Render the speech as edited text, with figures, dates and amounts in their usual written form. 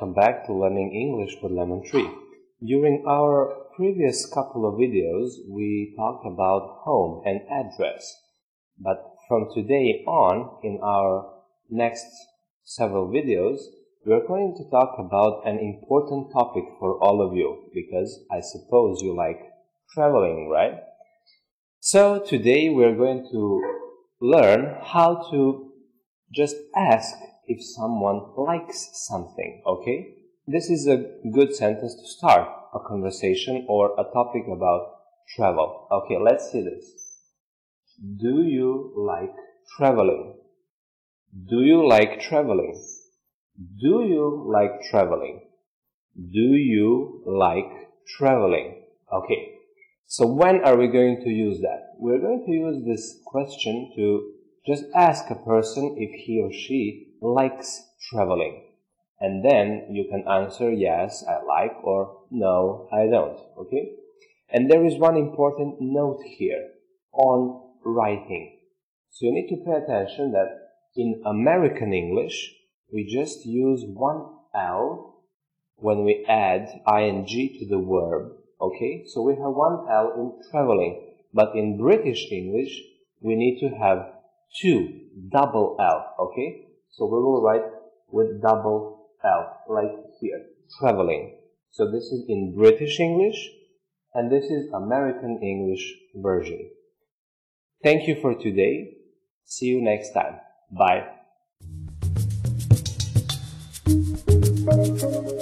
welcome back to Learning English with Lemon Tree. During our previous couple of videos, we talked about home and address. But from today on, in our next several videos, we're going to talk about an important topic for all of you, because I suppose you like traveling, right? So today we're going to learn how to just ask if someone likes something, okay? This is a good sentence to start a conversation or a topic about travel. Okay, let's see this. Do you like traveling? Do you like traveling? Do you like traveling? Do you like traveling? Okay, so when are we going to use that? We're going to use this question to just ask a person if he or she likes traveling. And then you can answer yes, I like, or no, I don't, okay? And there is one important note here on writing. So you need to pay attention that in American English, we just use one L when we add ing to the verb, okay? So we have one L in traveling, but in British English, we need to have two, double L, okay? So we will write with double L, like here, traveling. So this is in British English, and this is American English version. Thank you for today. See you next time. Bye.